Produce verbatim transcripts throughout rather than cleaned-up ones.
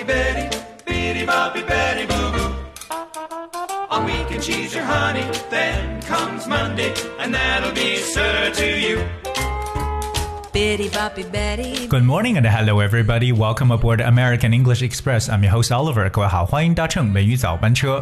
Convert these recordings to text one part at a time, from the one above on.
Betty, bitty boppy Betty boo boo.On weekend she's your honey, then comes Monday, and that'll be sir to you. Bitty boppy Betty. Good morning and hello everybody. Welcome aboard American English Express. I'm your host Oliver. 各位好，欢迎搭乘美语早班车。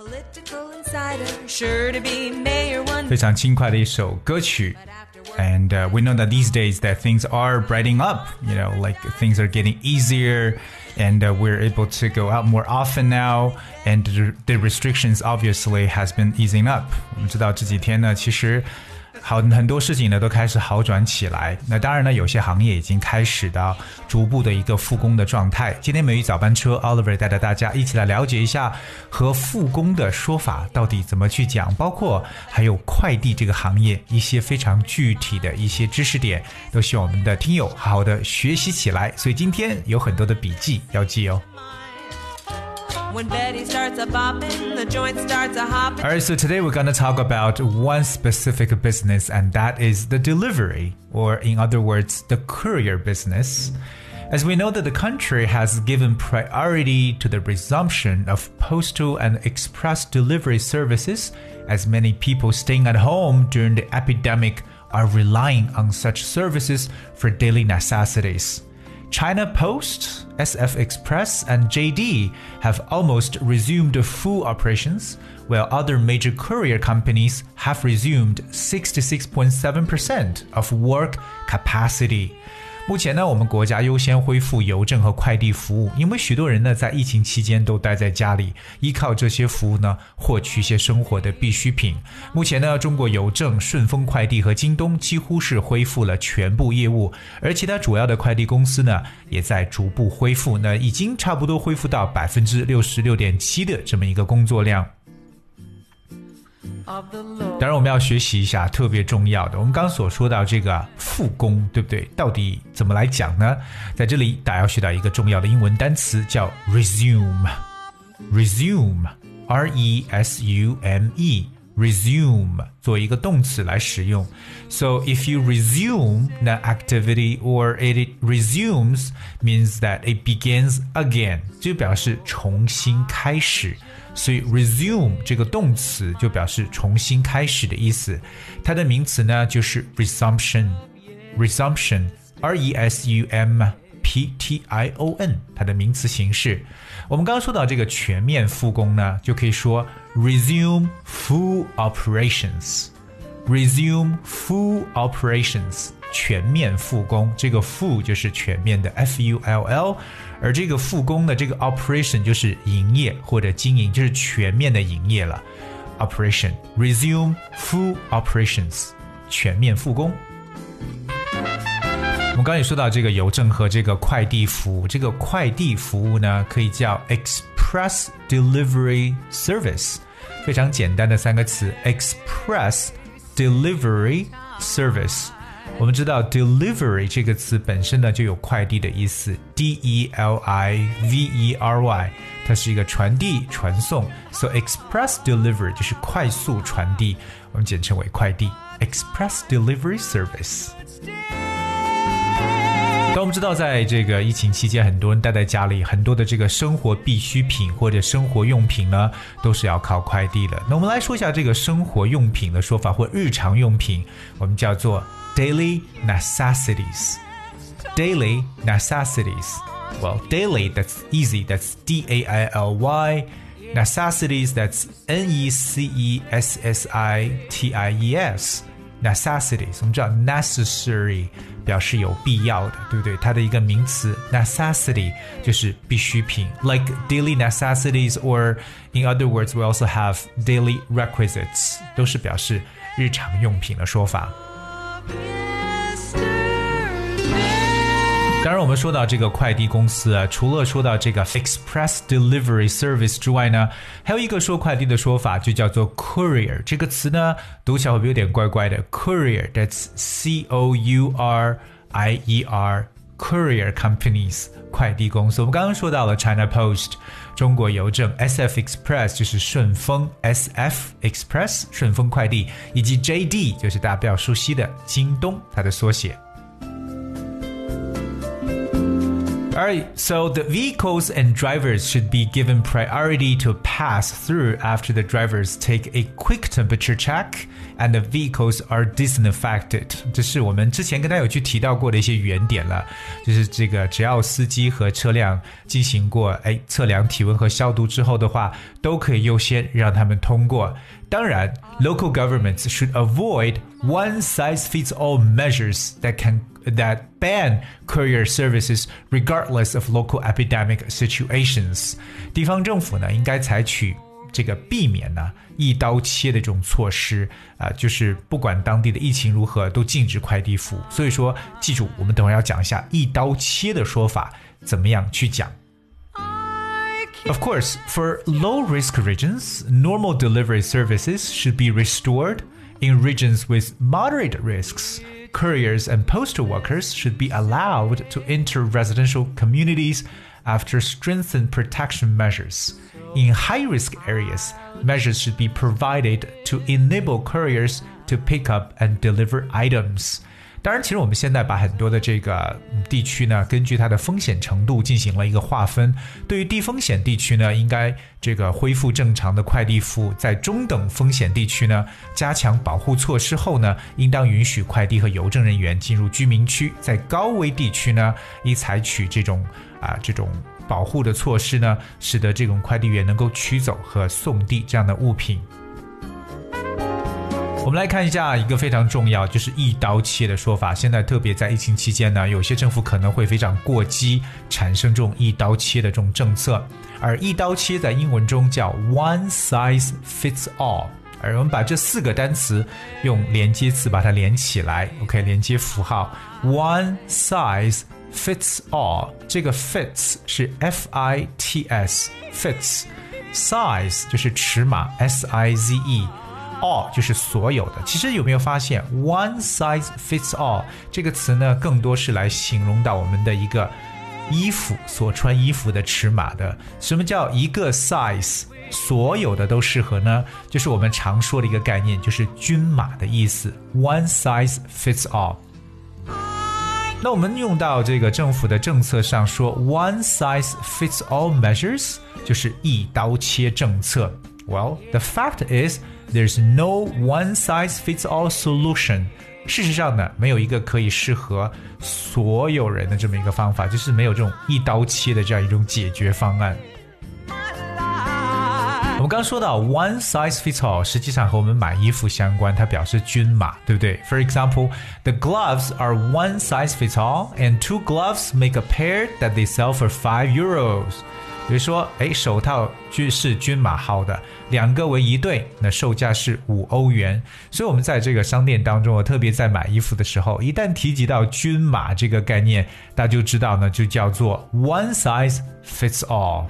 非常轻快的一首歌曲。And uh, we know that these days that things are brightening up, you know, like things are getting easier and uh, we're able to go out more often now and the, the restrictions obviously has been easing up. 我们知道这几天呢，其实好很多事情呢都开始好转起来。那当然呢，有些行业已经开始到逐步的一个复工的状态。今天美语早班车 Oliver 带着大家一起来了解一下和复工的说法到底怎么去讲，包括还有快递这个行业一些非常具体的一些知识点，都希望我们的听友好好的学习起来。所以今天有很多的笔记要记哦。 When Betty starts a bopping, the joint starts a hopping. Alright, so today we're going to talk about one specific business, and that is the delivery, or in other words, the courier business. As we know that the country has given priority to the resumption of postal and express delivery services, as many people staying at home during the epidemic are relying on such services for daily necessities.China Post, S F Express, and J D have almost resumed full operations, while other major courier companies have resumed sixty-six point seven percent of work capacity. 目前呢，我们国家优先恢复邮政和快递服务，因为许多人呢在疫情期间都待在家里，依靠这些服务呢获取一些生活的必需品。目前呢，中国邮政、顺丰快递和京东几乎是恢复了全部业务，而其他主要的快递公司呢也在逐步恢复，那已经差不多恢复到百分之六十六点七的这么一个工作量。当然我们要学习一下特别重要的，我们刚刚所说到这个复工，对不对？到底怎么来讲呢？在这里大家要学到一个重要的英文单词叫 resume resume R E S U M E resume 作为一个动词来使用。 So if you resume the activity or it resumes means that it begins again 就表示重新开始，所以 resume 这个动词就表示重新开始的意思。它的名词呢就是 resumption resumption R E S U M P T I O N 它的名词形式。我们刚刚说到这个全面复工呢，就可以说 resume full operations resume full operations 全面复工，这个 full 就是全面的 F U L L， 而这个复工的这个 operation 就是营业或者经营，就是全面的营业了。 operation resume full operations 全面复工。我们刚才也说到这个邮政和这个快递服务，这个快递服务呢可以叫 express delivery service， 非常简单的三个词 express delivery service。 我们知道 delivery 这个词本身呢就有快递的意思 D E L I V E R Y， 它是一个传递传送， so express delivery 就是快速传递，我们简称为快递 express delivery service。那我们知道在这个疫情期间很多人待在家里，很多的这个生活必需品或者生活用品呢都是要靠快递的。那我们来说一下这个生活用品的说法或日常用品，我们叫做 daily necessities daily necessities Well, daily, that's easy, that's D A I L Y necessities, that's N E C E S S I T I E S necessities， 我们知道 necessary 表示有必要的，对不对？它的一个名词 necessity 就是必需品 like daily necessities, or in other words we also have daily requisites， 都是表示日常用品的说法。当然我们说到这个快递公司啊，除了说到这个 express delivery service 之外呢，还有一个说快递的说法就叫做 courier， 这个词呢读起来会不会有点怪怪的 courier, that's C O U R I E R courier companies 快递公司。我们刚刚说到了 China Post 中国邮政， S F Express 就是顺丰 S F Express 顺丰快递，以及 J D 就是大家比较熟悉的京东，它的缩写。 Alright, so the vehicles and drivers should be given priority to pass through after the drivers take a quick temperature check and the vehicles are disinfected. 这是我们之前跟大家有去提到过的一些原点了，就是这个只要司机和车辆进行过哎测量体温和消毒之后的话，都可以优先让他们通过。当然 local governments should avoid one-size-fits-all measures that can that ban courier services regardless of local epidemic situations. 地方政府呢，应该采取这个避免呢一刀切的这种措施啊、呃，就是不管当地的疫情如何，都禁止快递服务。所以说，记住，我们等会儿要讲一下一刀切的说法怎么样去讲。Of course, for low-risk regions, normal delivery services should be restored. In regions with moderate risks, couriers and postal workers should be allowed to enter residential communities after strengthened protection measures. In high-risk areas, measures should be provided to enable couriers to pick up and deliver items.当然，其实我们现在把很多的这个地区呢，根据它的风险程度进行了一个划分。对于低风险地区呢，应该这个恢复正常的快递服务；在中等风险地区呢，加强保护措施后呢，应当允许快递和邮政人员进入居民区；在高危地区呢，应采取这种啊这种保护的措施呢，使得这种快递员能够取走和送递这样的物品。我们来看一下一个非常重要，就是一刀切的说法。现在特别在疫情期间呢，有些政府可能会非常过激，产生这种一刀切的这种政策。而一刀切在英文中叫 one size fits all。而我们把这四个单词用连接词把它连起来 ，OK， 连接符号 one size fits all。这个 fits 是 F I T S fits， size 就是尺码 S I Z E。all 就是所有的。其实有没有发现 one size fits all 这个词呢，更多是来形容到我们的一个衣服所穿衣服的尺码的。什么叫一个 size 所有的都适合呢？就是我们常说的一个概念，就是均码的意思 one size fits all。那我们用到这个政府的政策上说 one size fits all measures 就是一刀切政策。Well, the fact is there's no one-size-fits-all solution. 事实上呢，没有一个可以适合所有人的这么一个方法，就是没有这种一刀切的这样一种解决方案。我们刚说到 one size fits all 实际上和我们买衣服相关，它表示均码，对不对？ For example, the gloves are one size fits all and two gloves make a pair that they sell for five euros. 比如说，哎，手套是均码号的，两个为一对，那售价是五欧元。所以我们在这个商店当中，我特别在买衣服的时候，一旦提及到均码这个概念，大家就知道呢，就叫做 one size fits all。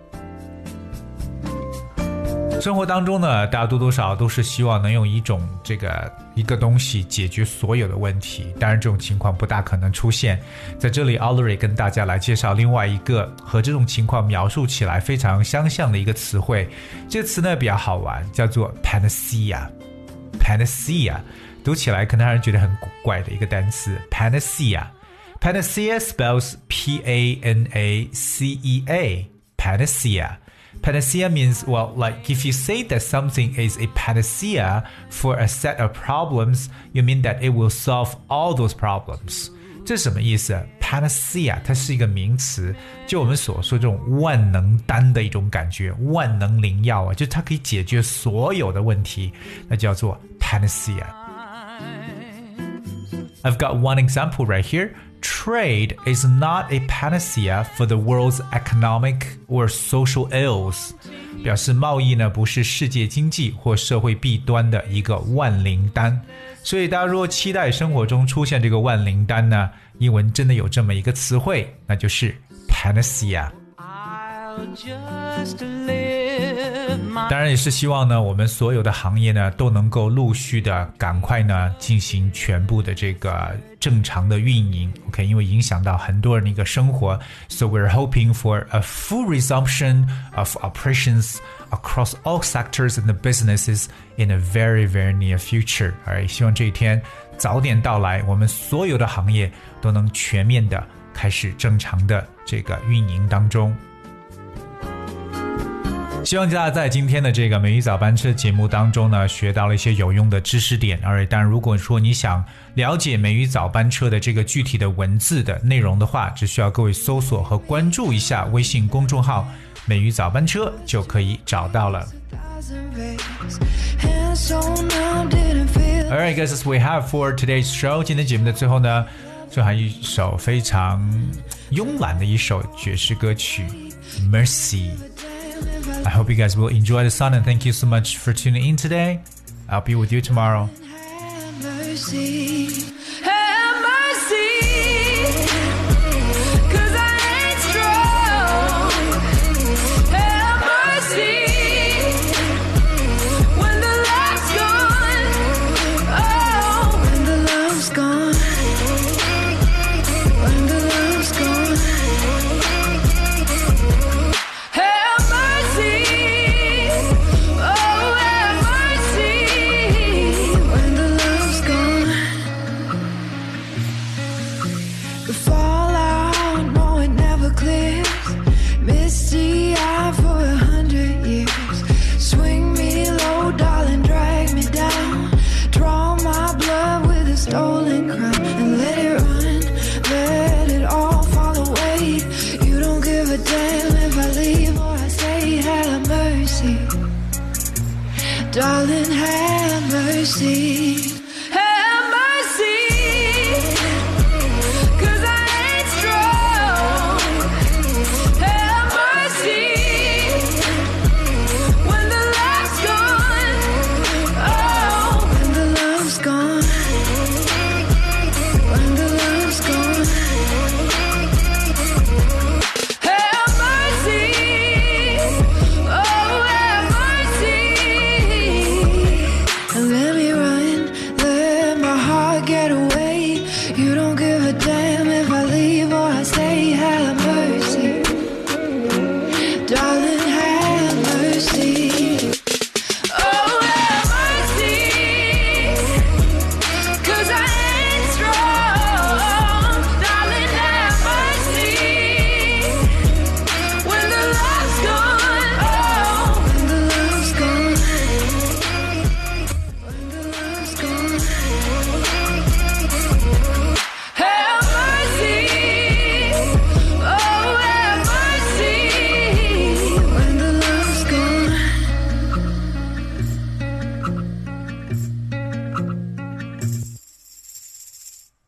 生活当中呢，大家多多少少都是希望能用一种这个一个东西解决所有的问题，当然这种情况不大可能出现。在这里 Audrey 跟大家来介绍另外一个和这种情况描述起来非常相像的一个词汇，这个词呢比较好玩，叫做 panacea。 panacea 读起来可能让人觉得很古怪的一个单词 panacea。 Panacea spells P A N A C E A Panacea。Panacea means, well, like if you say that something is a panacea for a set of problems, you mean that it will solve all those problems. 这是什么意思？ Panacea 它是一个名词，就我们所说这种万能丹的一种感觉，万能灵药啊，就它可以解决所有的问题，那叫做 Panacea。I've got one example right here.Trade is not a panacea for the world's economic or social ills. 表示贸易呢不是世界经济或社会弊端的一个万灵丹。所以大家如果期待生活中出现这个万灵丹呢，英文真的有这么一个词汇，那就是 panacea。I'll just live my... 当然也是希望呢，我们所有的行业呢都能够陆续的赶快呢进行全部的这个正常的运营 ，OK， 因为影响到很多人的一个生活 ，so we're hoping for a full resumption of operations across all sectors and the businesses in a very very near future。而希望这一天早点到来，我们所有的行业都能全面的开始正常的这个运营当中。希望大家在今天的这个美语早班车节目当中呢，学到了一些有用的知识点。而当然，如果说你想了解美语早班车的这个具体的文字的内容的话，只需要各位搜索和关注一下微信公众号美语早班车就可以找到了。Alright, guys, that's what we have for today's show. 今天节目的最后呢，就还有一首非常慵懒的一首爵士歌曲 Mercy。I hope you guys will enjoy the song and thank you so much for tuning in today. I'll be with you tomorrow. Have mercy, have mercy, 'cause I ain't strong. Have mercy, when the love's gone. Oh, when the love's gone. When the love's gone. Stolen crown and let it run, let it all fall away. You don't give a damn if I leave or I stay. Have mercy, darling, have mercy.